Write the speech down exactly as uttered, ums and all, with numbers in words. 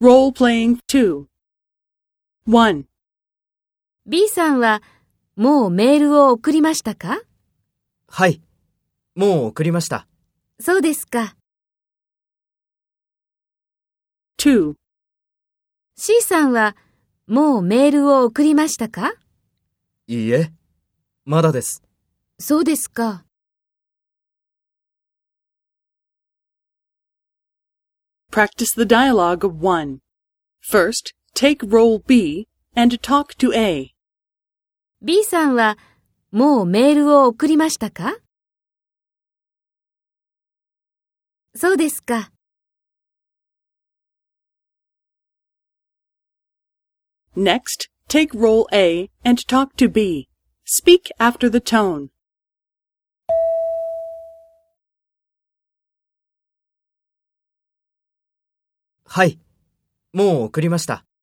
Role-playing two. one. B さんはもうメールを送りましたか？ はい、もう送りました。 そうですか。 two. C さんはもうメールを送りましたか？ いいえ、まだです。 そうですか。 Practice the dialogue of one. First, take role B and talk to A. B さんはもうメールを送りましたか？そうですか。 Next, take role A and talk to B. Speak after the tone. はい、もう送りました。